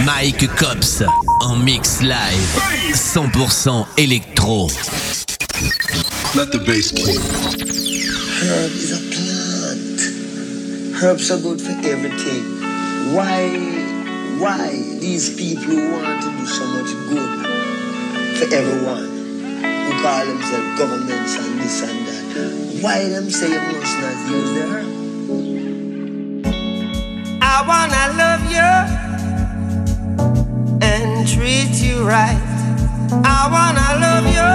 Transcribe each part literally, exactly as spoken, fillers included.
Mike Cops en mix live, cent pour cent électro. Let the bass kick. Herb is a plant. Herbs are good for everything. Why, why these people who want to do so much good for everyone, who call themselves governments and this and that, why them say you must not use the herb? I wanna love you and treat you right. I wanna love you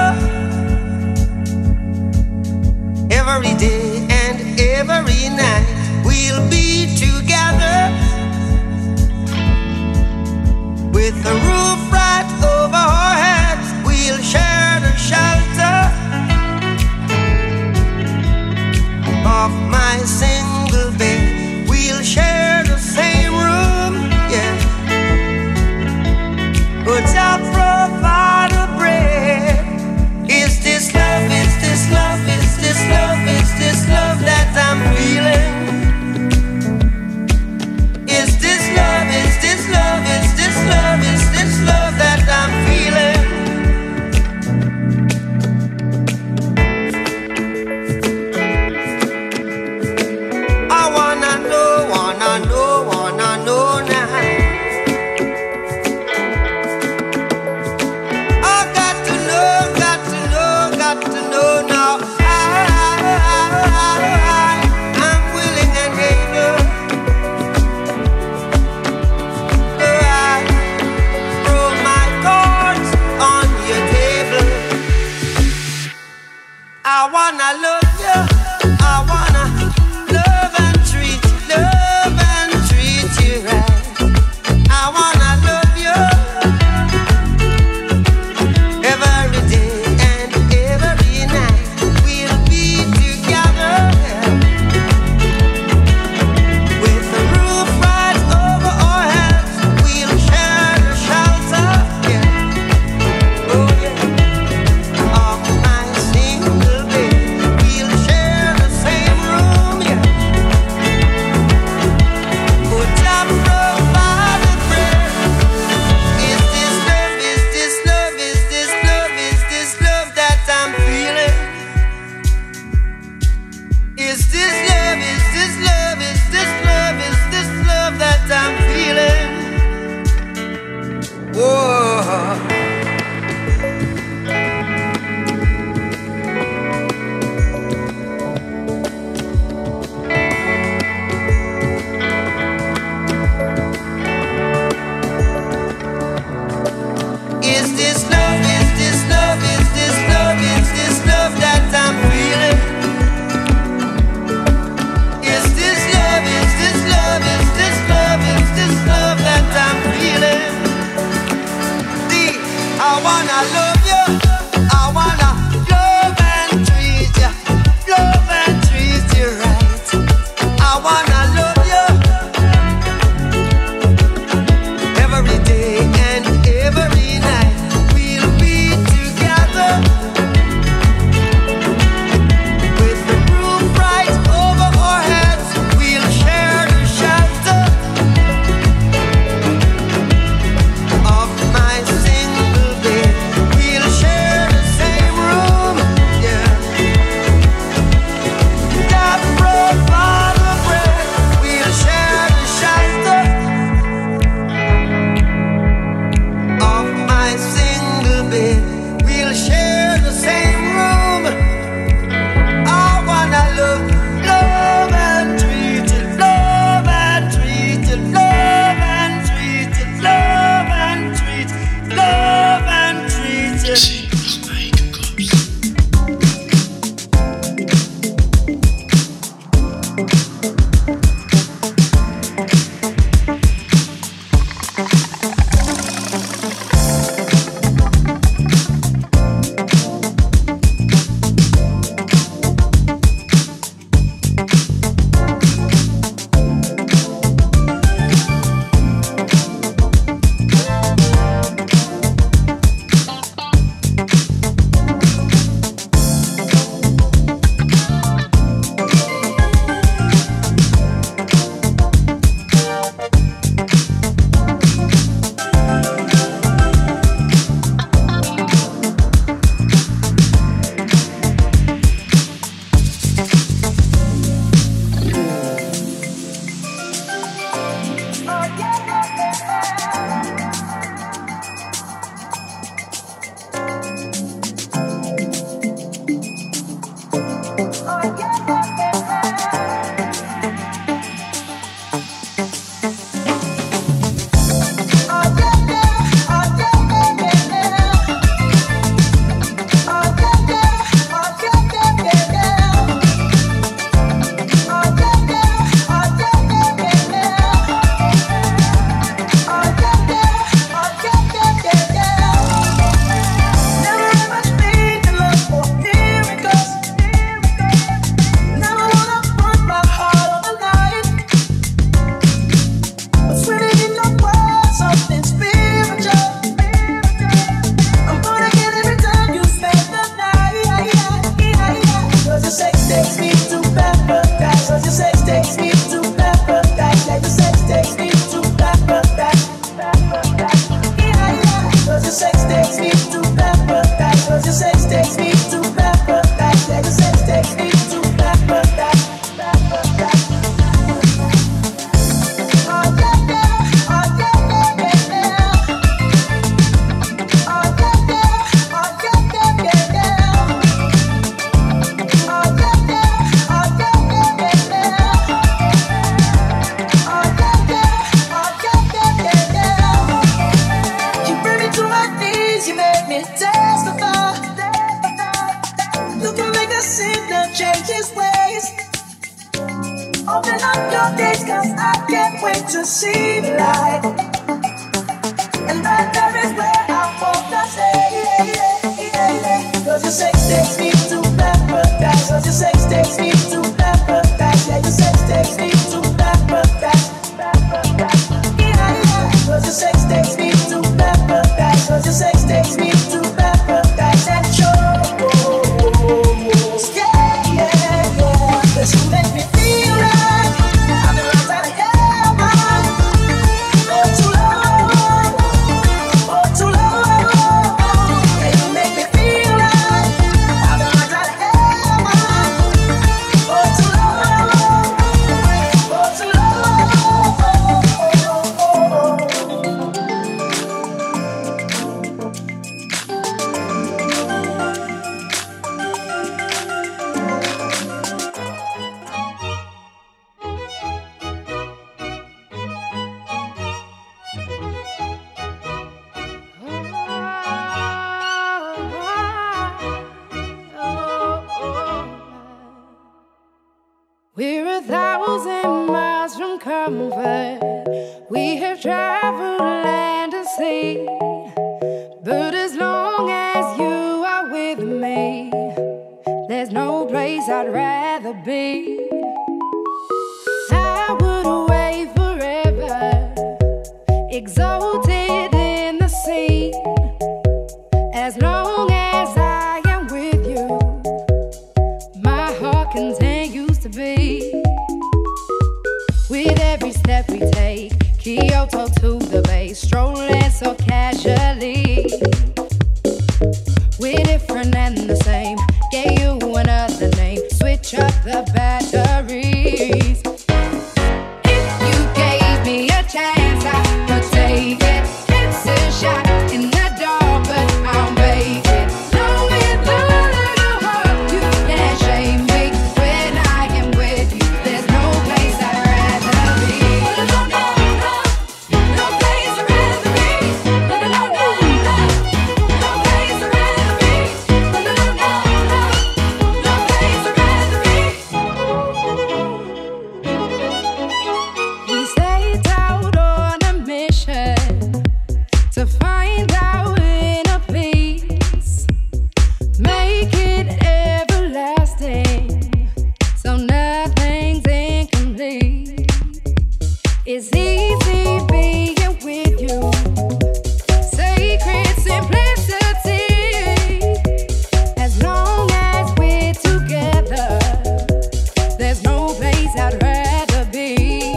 every day and every night. We'll be together with a roof right over our heads. We'll share the shelter of my single bed. We'll share the same room, yeah. But I'll provide a bread. Is this love, is this love, is this love, is this love that I'm feeling? Is this love, is this love, is this love, is this love that I'm feeling? I wanna know, wanna know, wanna know now. I got to know, got to know, got to know now. I, I, I, I'm willing and able. So I throw my cards on your table. I wanna love you. I wanna love and treat you, love and treat you right. I wanna love you every day and every night. We'll be together with the roof right over our heads. We'll share the shelter, yeah. Oh yeah, of my single bed. We'll share the same room, yeah. Put up provide a prayer. Is this love, is this love, is this love, is this love that I'm feeling? Is this love, is this love, is this love, is this love that I'm feeling? Whoa. Is this love, is this love, is this love, is this love that I'm feeling? Is this love, is this love, is this love, is this love that I'm feeling? See, I wanna love you, I wanna love and treat you, love and treat you right. I wanna love you every day and every night. We'll be together with the roof right over our heads. We'll share the shelter of my single bed. to see light. And right there is where I want to stay. Cause your sex takes me to paradise. Cause your sex takes me to paradise. Yeah, your sex takes me to paradise. Cause your sex takes me to paradise. Cause your sex takes me to paradise. And shows, yeah, yeah, yeah. Cause you make me feel like I'm the right side of heaven. Oh, too long, oh, too long. Yeah, you make me feel like I'm the right side of heaven. Oh, too long, oh, too long. We're a thousand miles from comfort. We have traveled land and sea. But as long as you are with me, there's no place I'd rather be. I would away forever, exalted in the sea. As long as I am with you, my heart continues to beat. With every step we take, Kyoto to the bay, strolling so casually. We're different and the same, gave you another name, switch up the batteries. If you gave me a chance, I would take it. It's a shot in the dark, but I'll make it. No, with a little heart, you can't shame me. When I am with you, there's no place I'd rather be. No, no, no, no place I'd rather be. No, no, no, no, no place I'd rather be. No, no, no, no, no place I'd rather be. We stayed out on a mission to find our inner peace, make it everlasting, so nothing's incomplete. It's easy being with you, sacred simplicity. As long as we're together, there's no place I'd rather be.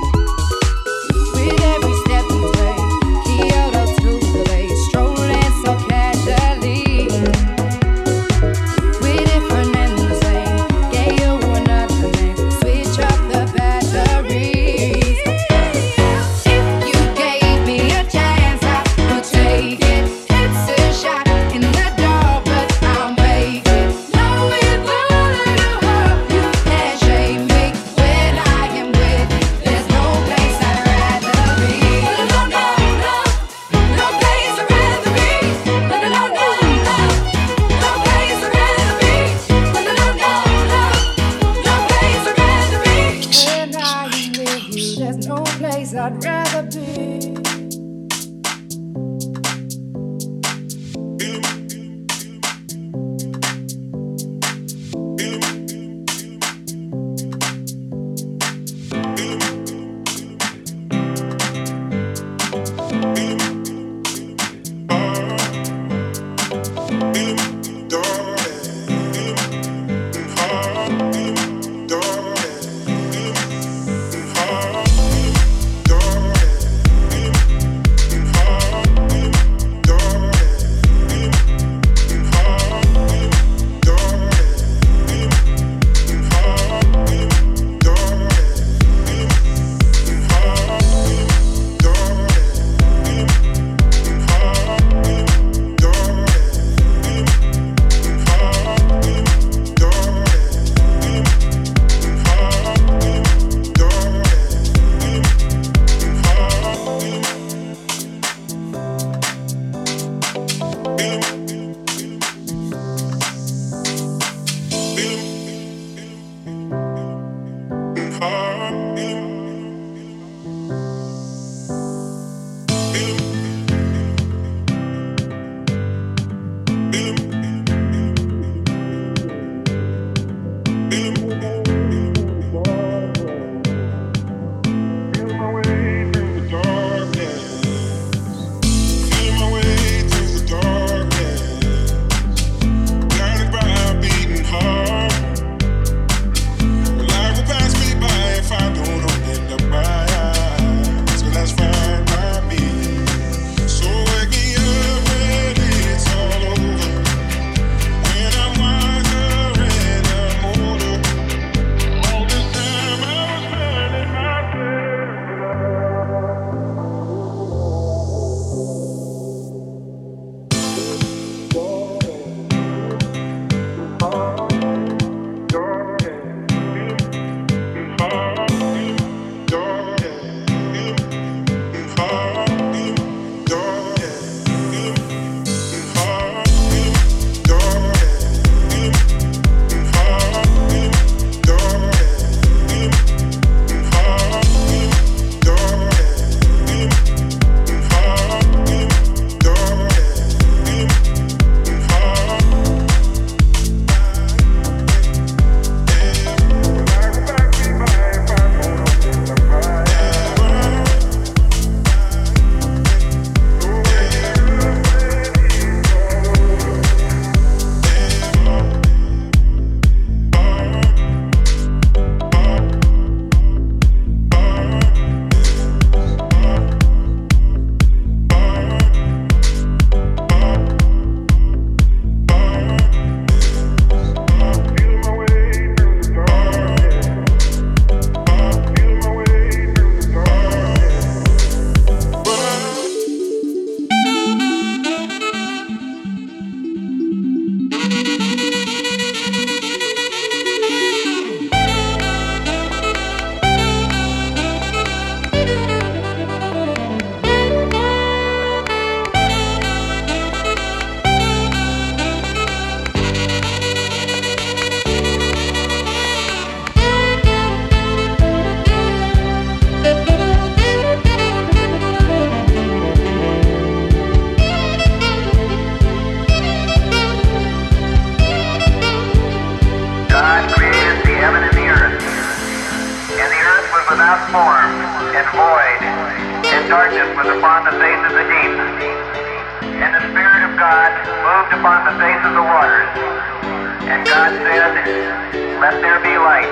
With every step we take, Kyoto to the bay, strolling so casually. We're different and the same, gave you another name, switch up the batteries. If you gave me a chance, I would take it. It's a shot in the dark, but I'll make it. No, with a little heart, you can't shame me. When I am with you, there's no place I'd rather be. No, no, no, no place I'd rather be. No, no, no, no, no place I'd rather be. No, no, no, no, no place I'd rather be. When I am with you, there's no place I'd rather be. Darling, darkness was upon the face of the deep, and the Spirit of God moved upon the face of the waters. And God said, "Let there be light."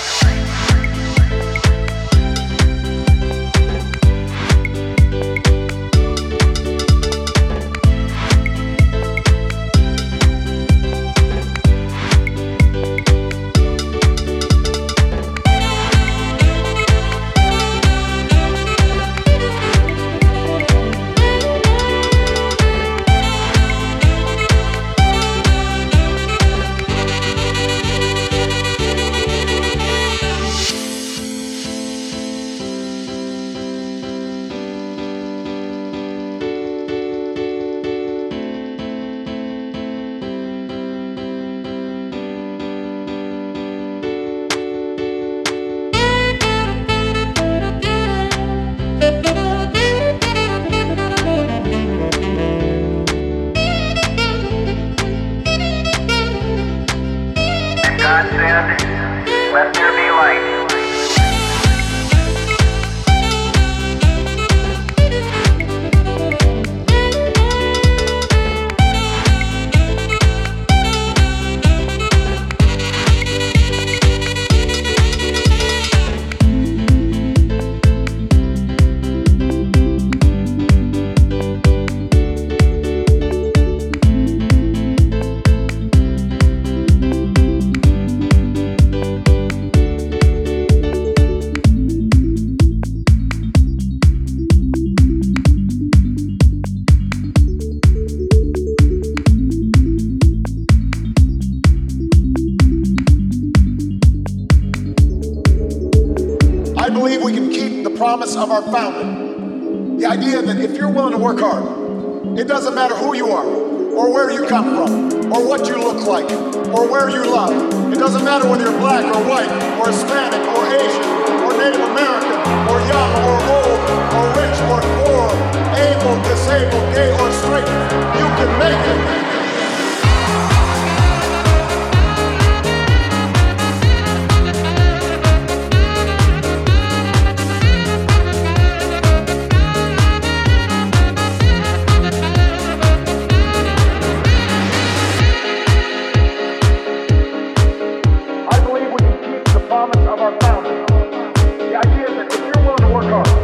God said, "Let there be light." I believe we can keep the promise of our founding. The idea that if you're willing to work hard, it doesn't matter who you are, or where you come from, or what you look like, or where you love. It doesn't matter whether you're black or white, or Hispanic or Asian, or Native American, or young or old, or rich or poor, able, disabled, gay or straight. You can make it. Promise of our founding. The idea that if you're willing to work hard,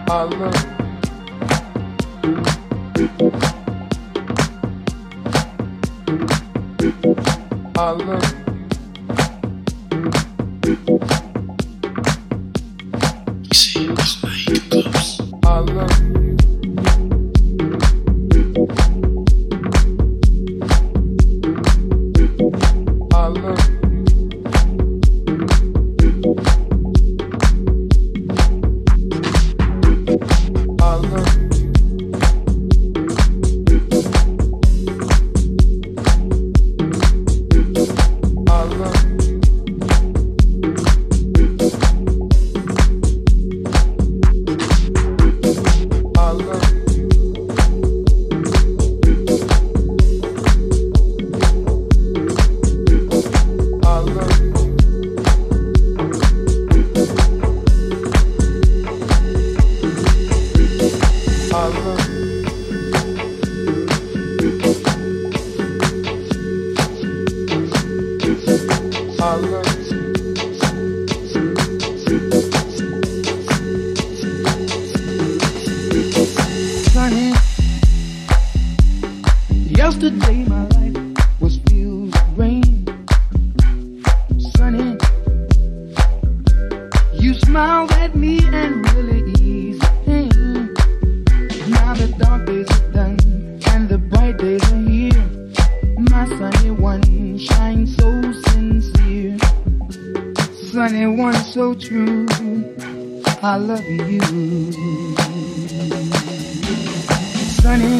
I love I love I love I love Yesterday my life was filled with rain. Sunny, you smiled at me and really eased the pain. Now the dark days are done and the bright days are here. My sunny one shines so sincere. Sunny one so true, I love you. Sunny,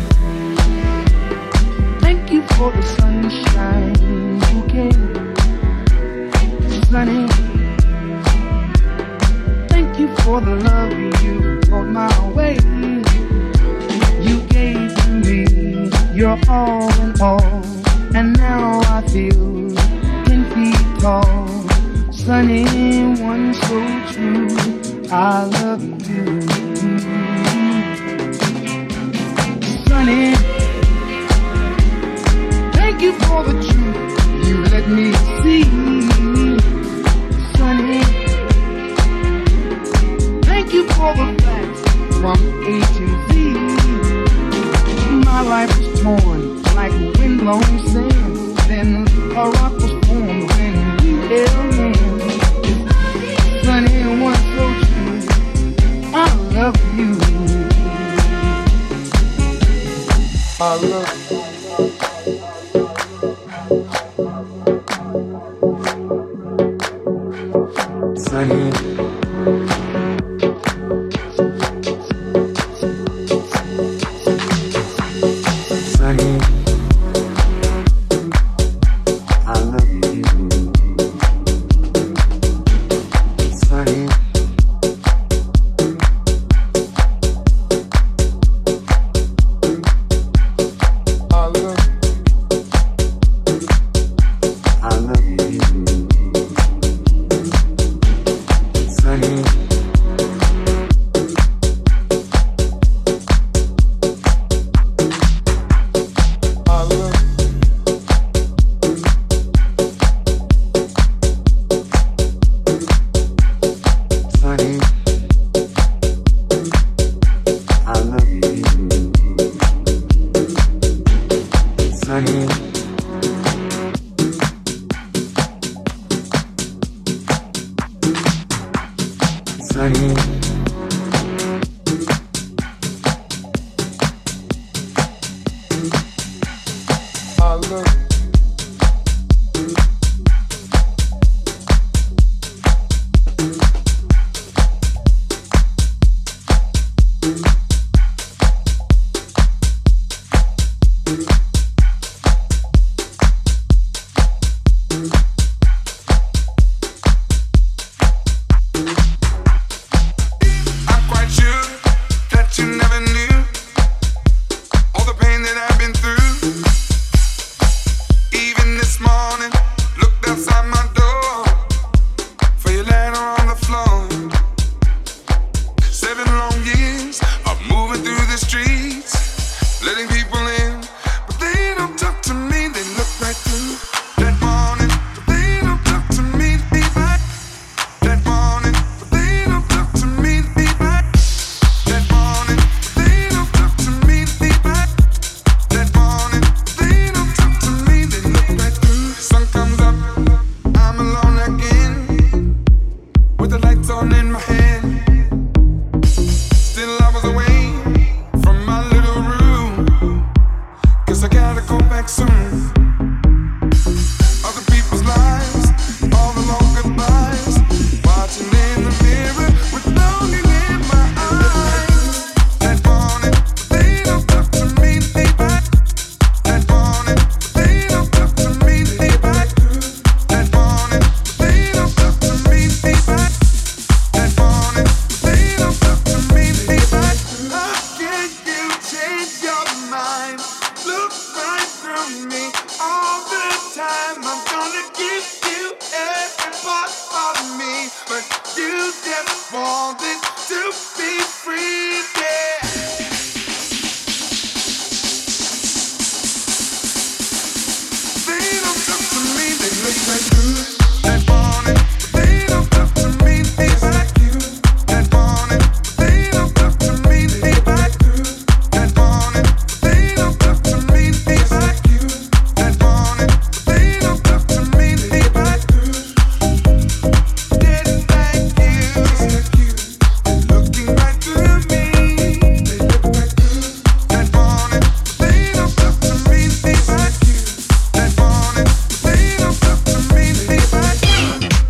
thank you for the sunshine bouquet. Sunny, thank you for the love you brought my way. You gave to me your all in all, and now I feel ten feet tall. Sunny, one so true, I love you. Sunny, thank you for the truth you let me see. Sunny, thank you for the facts from A to Z. My life was torn like windblown sand. Then a rock was formed when we held hands. Sunny, one so true, I love you. I love you. Sunny, Sunny, I love you. Sunny, I love I love you. Sunny, I love Sunny, I love you. Sunny, Sunny, I love wanted to be free, yeah. They don't talk to me, they look like good. That morning, they don't talk to me, they like you. That morning, they don't talk to me, they like you. That morning, they don't talk to me, they like you. That morning, they don't talk to me, they like you. Didn't like you, looking right through me. They look like you. That morning, they don't talk to me, they like you. That morning, they don't talk to me, they like you.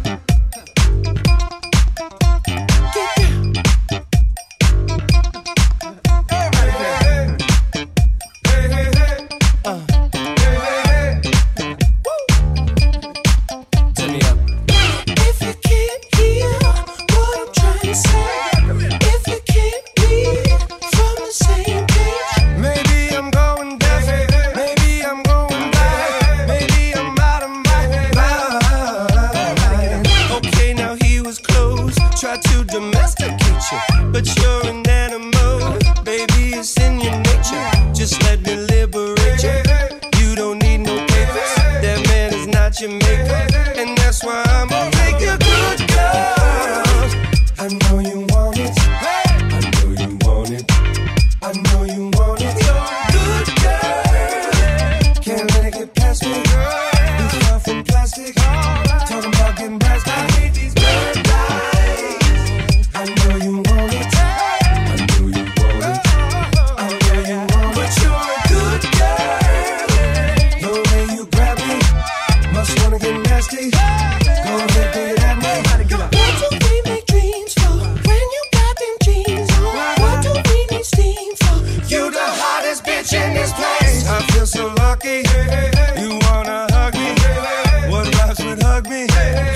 If you can't hear what I'm trying to say, if you can't read from the same page, maybe I'm going deaf, maybe I'm going blind, maybe I'm out of my mind. Okay, now he was close, tried to domesticate you, but you're an animal, baby, it's in your nature. Just let me liberate you. You don't need no papers, that man is not your maker, and that's why I'm gonna make you good, girl. I know you want it, I know you want it, I know you want it. Good girl, can't let it get past me. You far from plastic, talking about getting blasted. I hate these bad guys. I know you want it, I know you want it, I know you want it. But you're a good girl. The way you grab me, must wanna get nasty. Go ahead, do it at me. What do we make dreams for when you got them jeans on? What do we need steam for? You the hottest bitch in this place. I feel so lucky. You wanna hug me? What rhymes with hug me?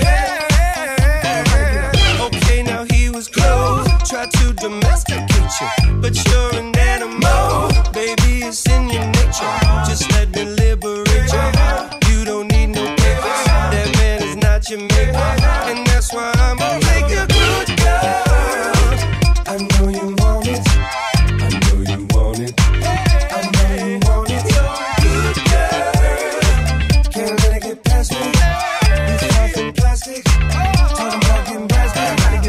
Okay, now he was close, tried to domesticate you, but you're an animal, baby, it's in your nature. Just let me liberate you. You don't need no papers, that man is not your maker, and that's why I'm gonna make you good, girl. I know you want it, I know you want it, I know you want it. Good girl, can't let it get past me. You far from plastic, talking about getting blasted.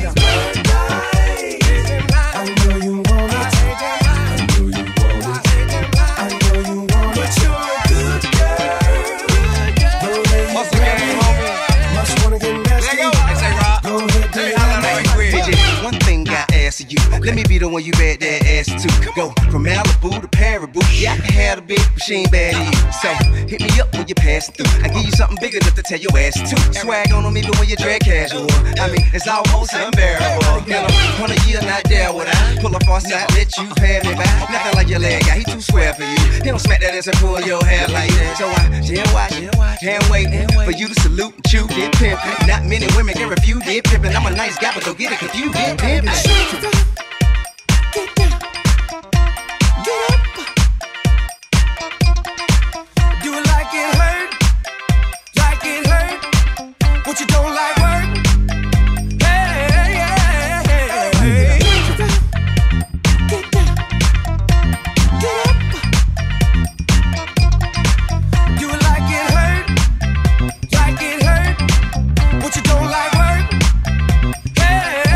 I know you want it, I know you want it, I know you want it. But you're a good girl. The way you grab me, must wanna get nasty. Go ahead, do it at me. D J, one thing I ask of you, let me be the one you bet that ass to. Go from Malibu to Paribu, yeah, I can have the big machine bad to you. So hit me up when you're passing through. I give you something big enough to tell your ass to. Swag on them even when you drag casual. I mean, it's almost unbearable. In a hundred year, not there would I pull up on side, let you pay me back. Nothing like your leg guy, he too square for you. He don't smack that ass and pull your hair like that. So I just watch, can't wait for you to salute and chew did pimpin'. Not many women can refuse did pimpin'. I'm a nice guy, but don't get it confused did pimpin'. Get down, get up. Do it like it hurt, like it hurt. What you don't like work? Hey, hey, hey, hey. Get down, get up. Do it like it hurt, like it hurt. What you don't like work? Hey.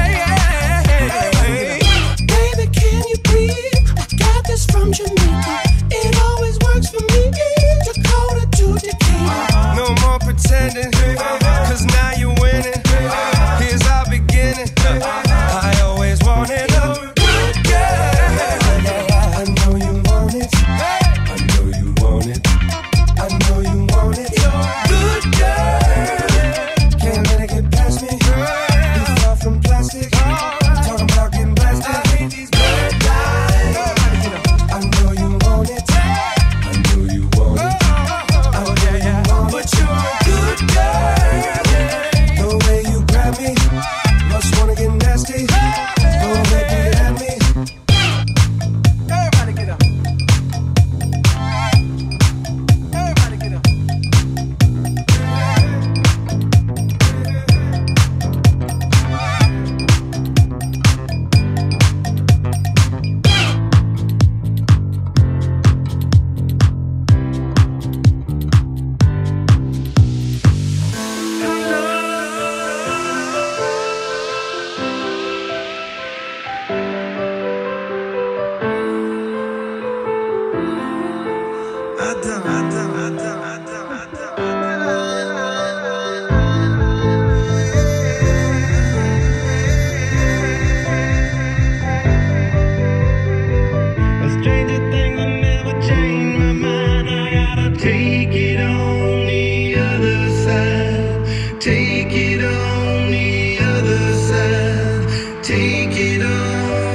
Take it on,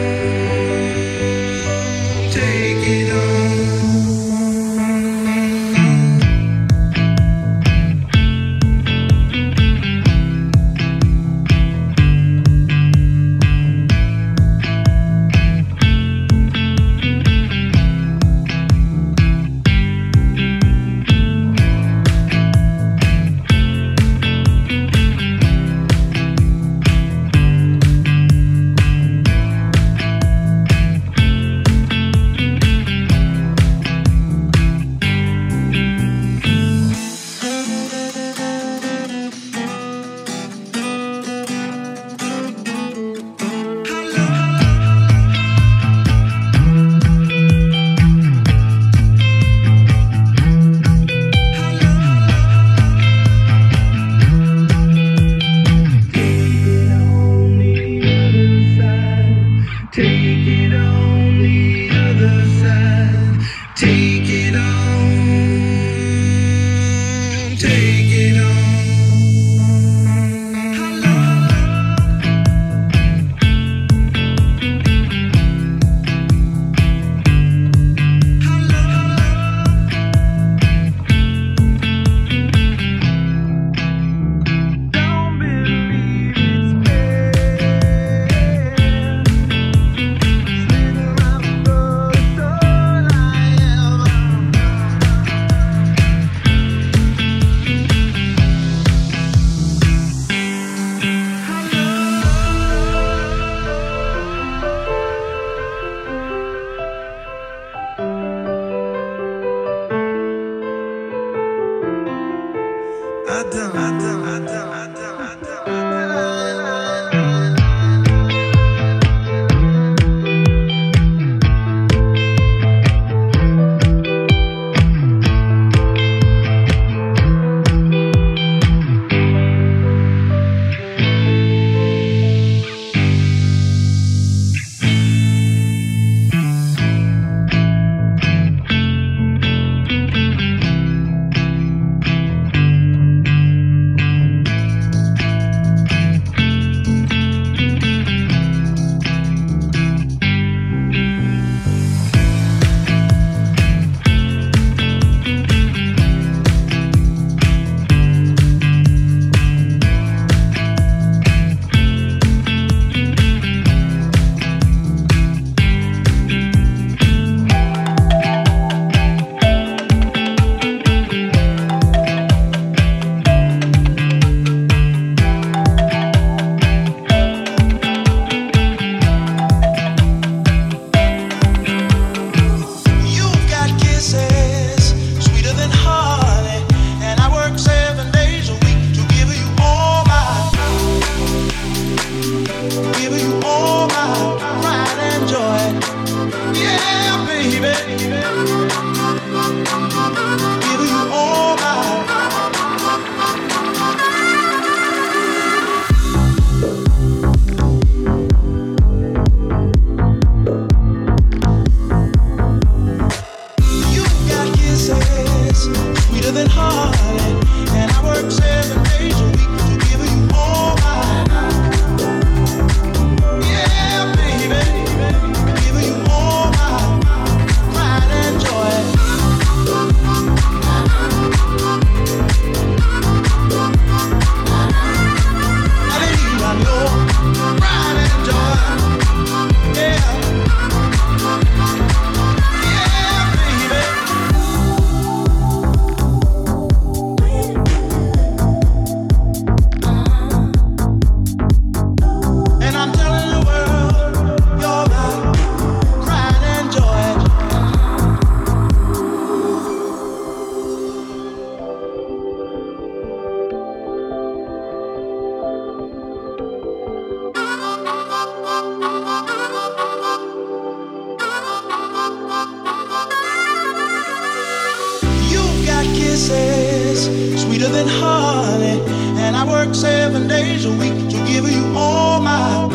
take it on. sweeter than honey. And I work seven days a week to give you all my,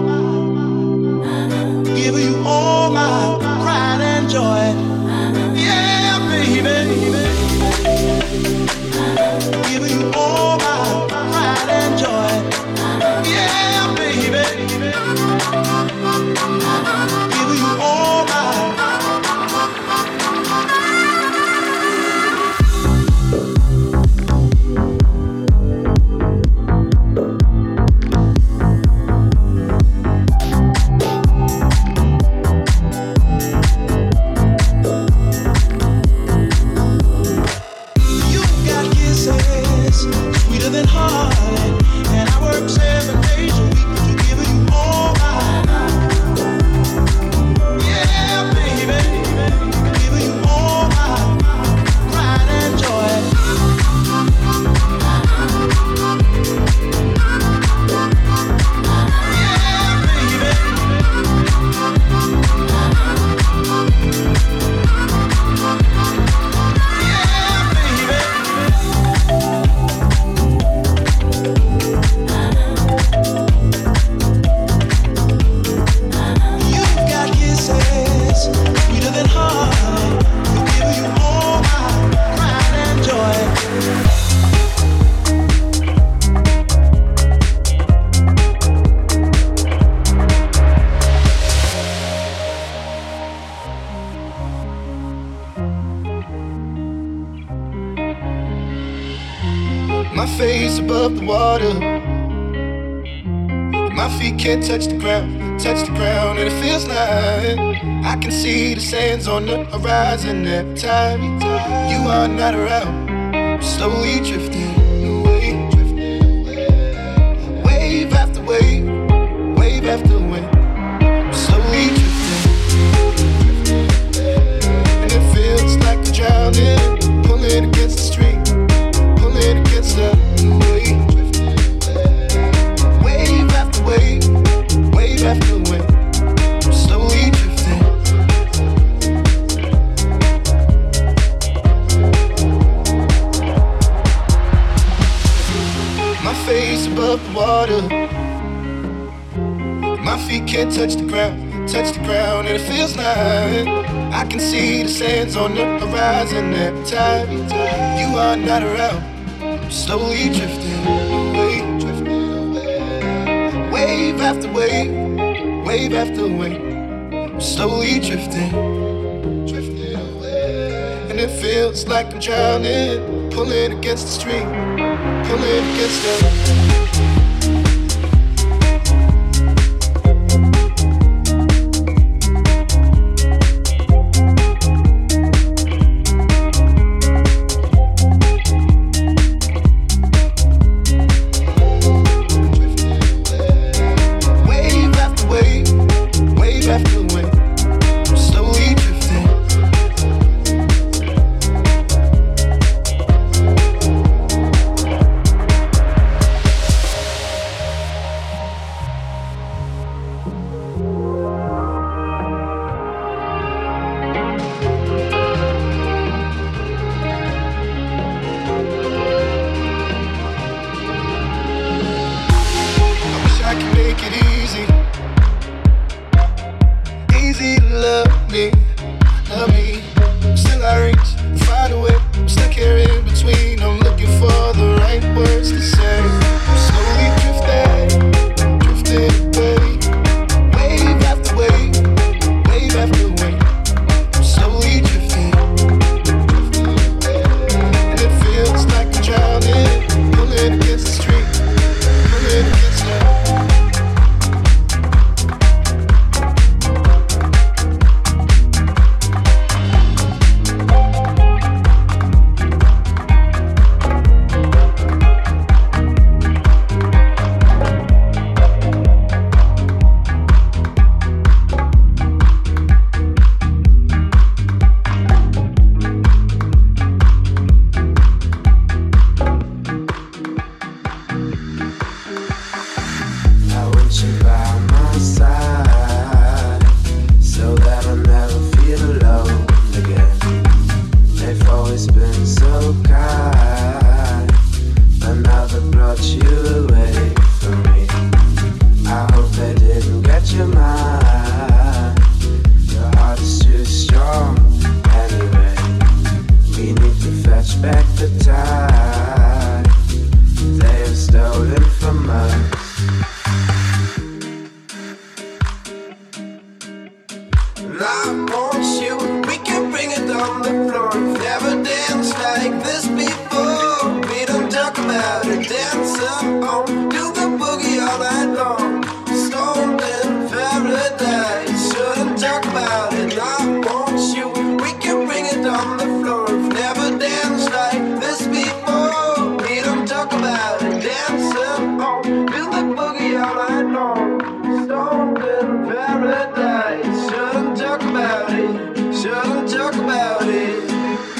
give you all my pride and joy. Yeah, baby, give you all my pride and joy. Yeah, baby. above the water. My feet can't touch the ground, touch the ground, and it feels like I can see the sands on the horizon every time you are not around. I'm slowly drifting away, drifting away. Wave after wave, wave after wave. I'm slowly drifting, and it feels like I'm drowning, pulling against the stream, pulling against the wave. Wave, wave after wave, I'm slowly drifting. My face above the water. My feet can't touch the ground, touch the ground, and it feels like I can see the sands on the horizon every time you are not around. I'm slowly drifting away. Wave after wave, wave after wave, I'm slowly drifting, drifting away. And it feels like I'm drowning, pulling against the stream, pulling against the Shouldn't talk about it, shouldn't talk about it.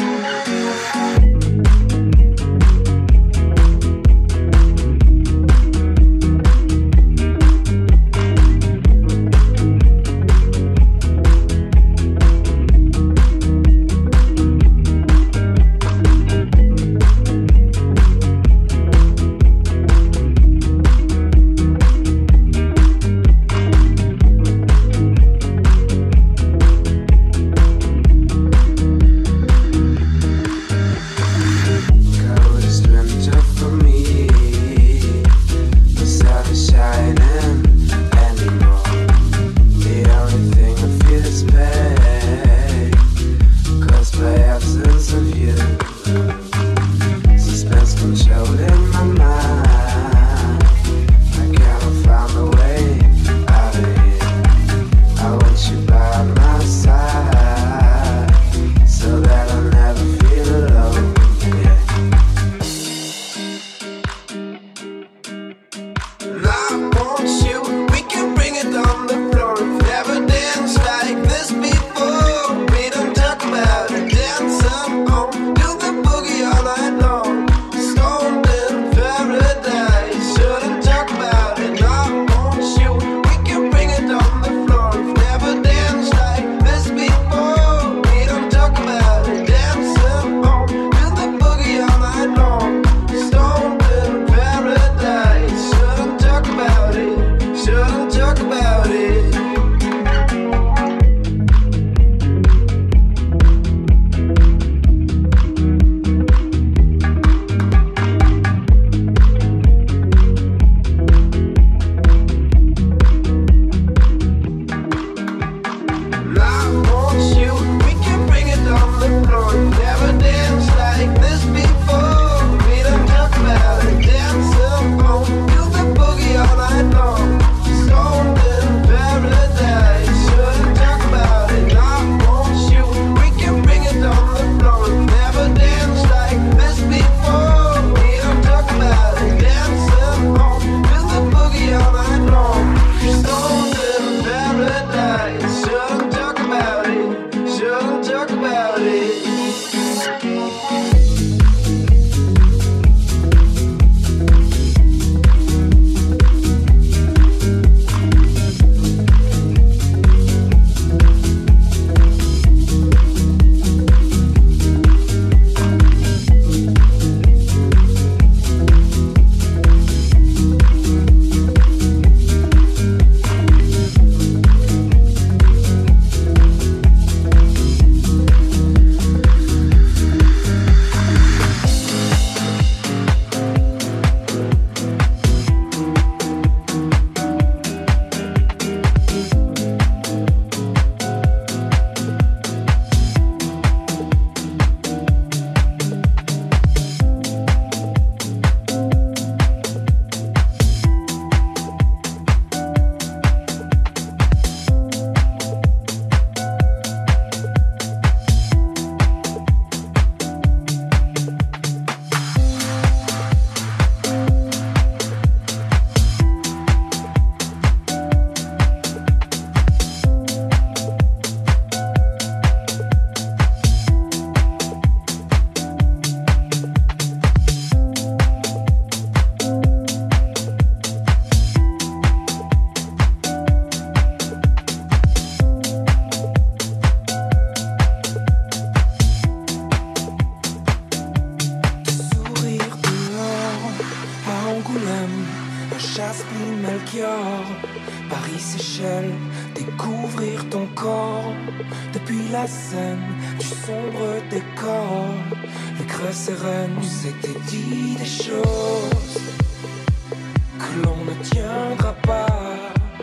Seychelles, découvrir ton corps. Depuis la scène du sombre décor, le creux sereine, on s'était dit des choses que l'on ne tiendra pas.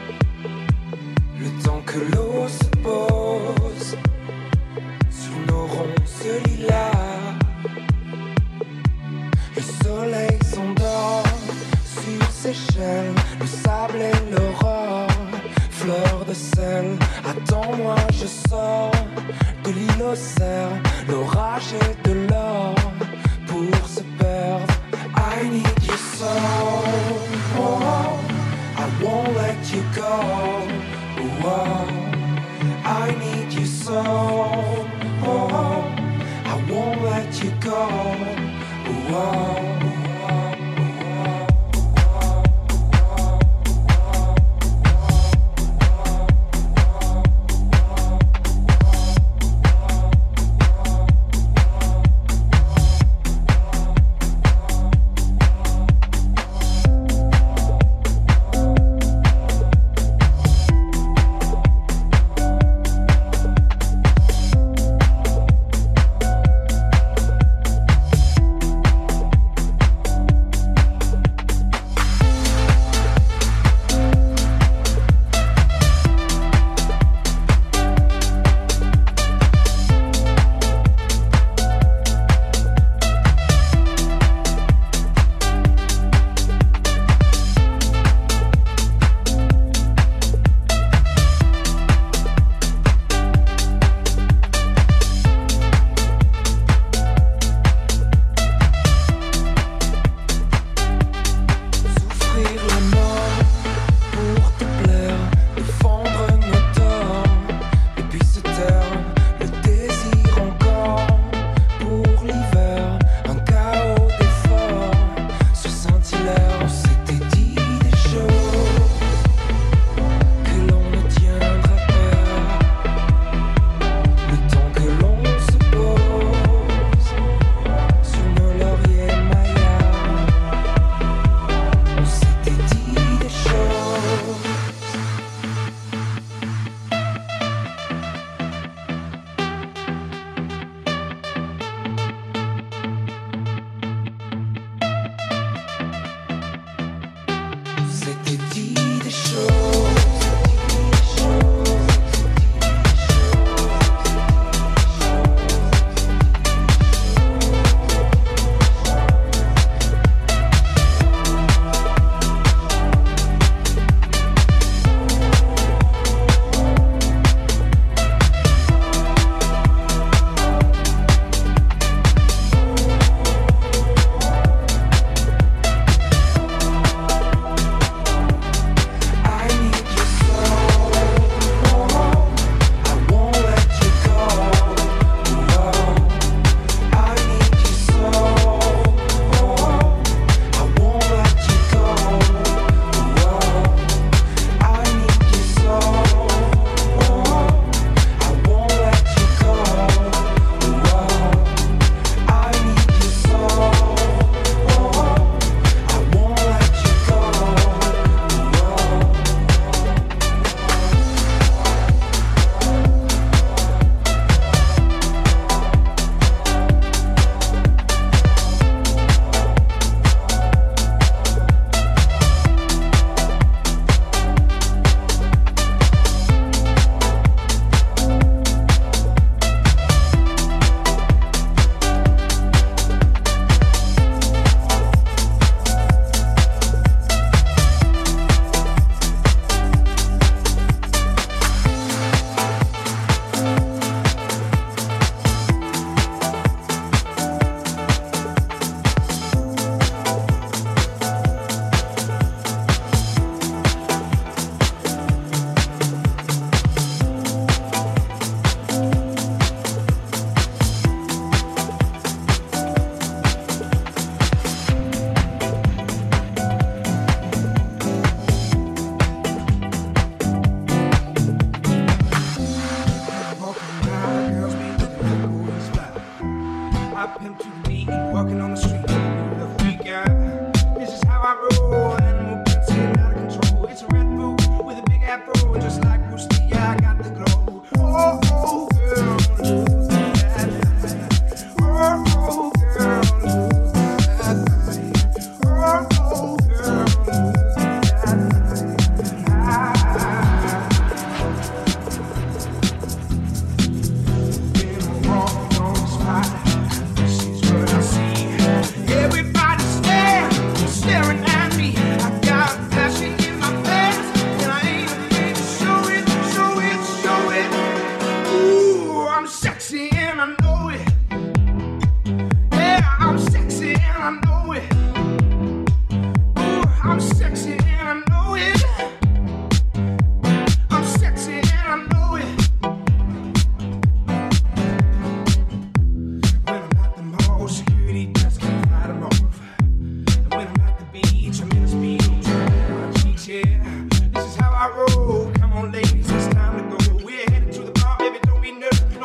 Le temps que l'eau se pose sur nos ronces lilas, le soleil s'endort sur Seychelles, le sable et l'aurore, fleur de sel. Attends-moi, je sors de l'île aux cerfs, l'orage et de l'or pour se perdre. I need your soul, oh, I won't let you go, oh, I need your soul, oh, I won't let you go, oh.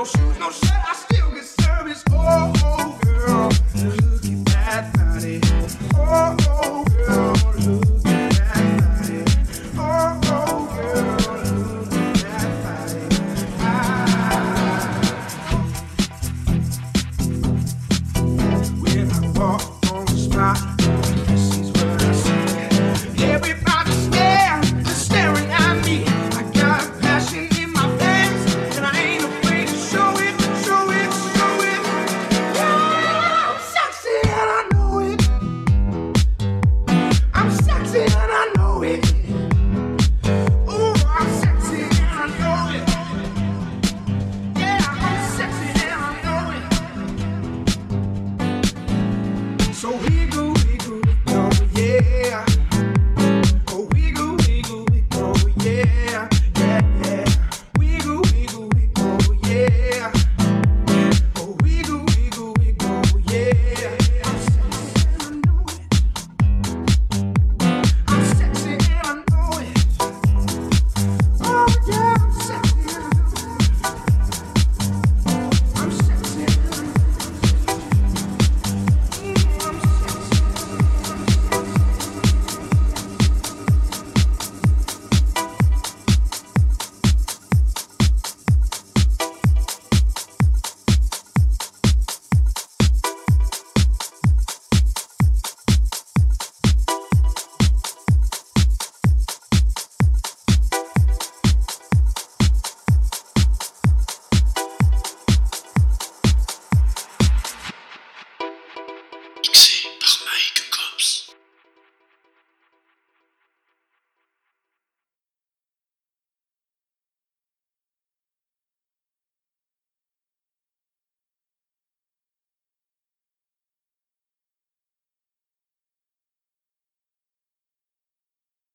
shoes, no shirt, I still get service. Oh.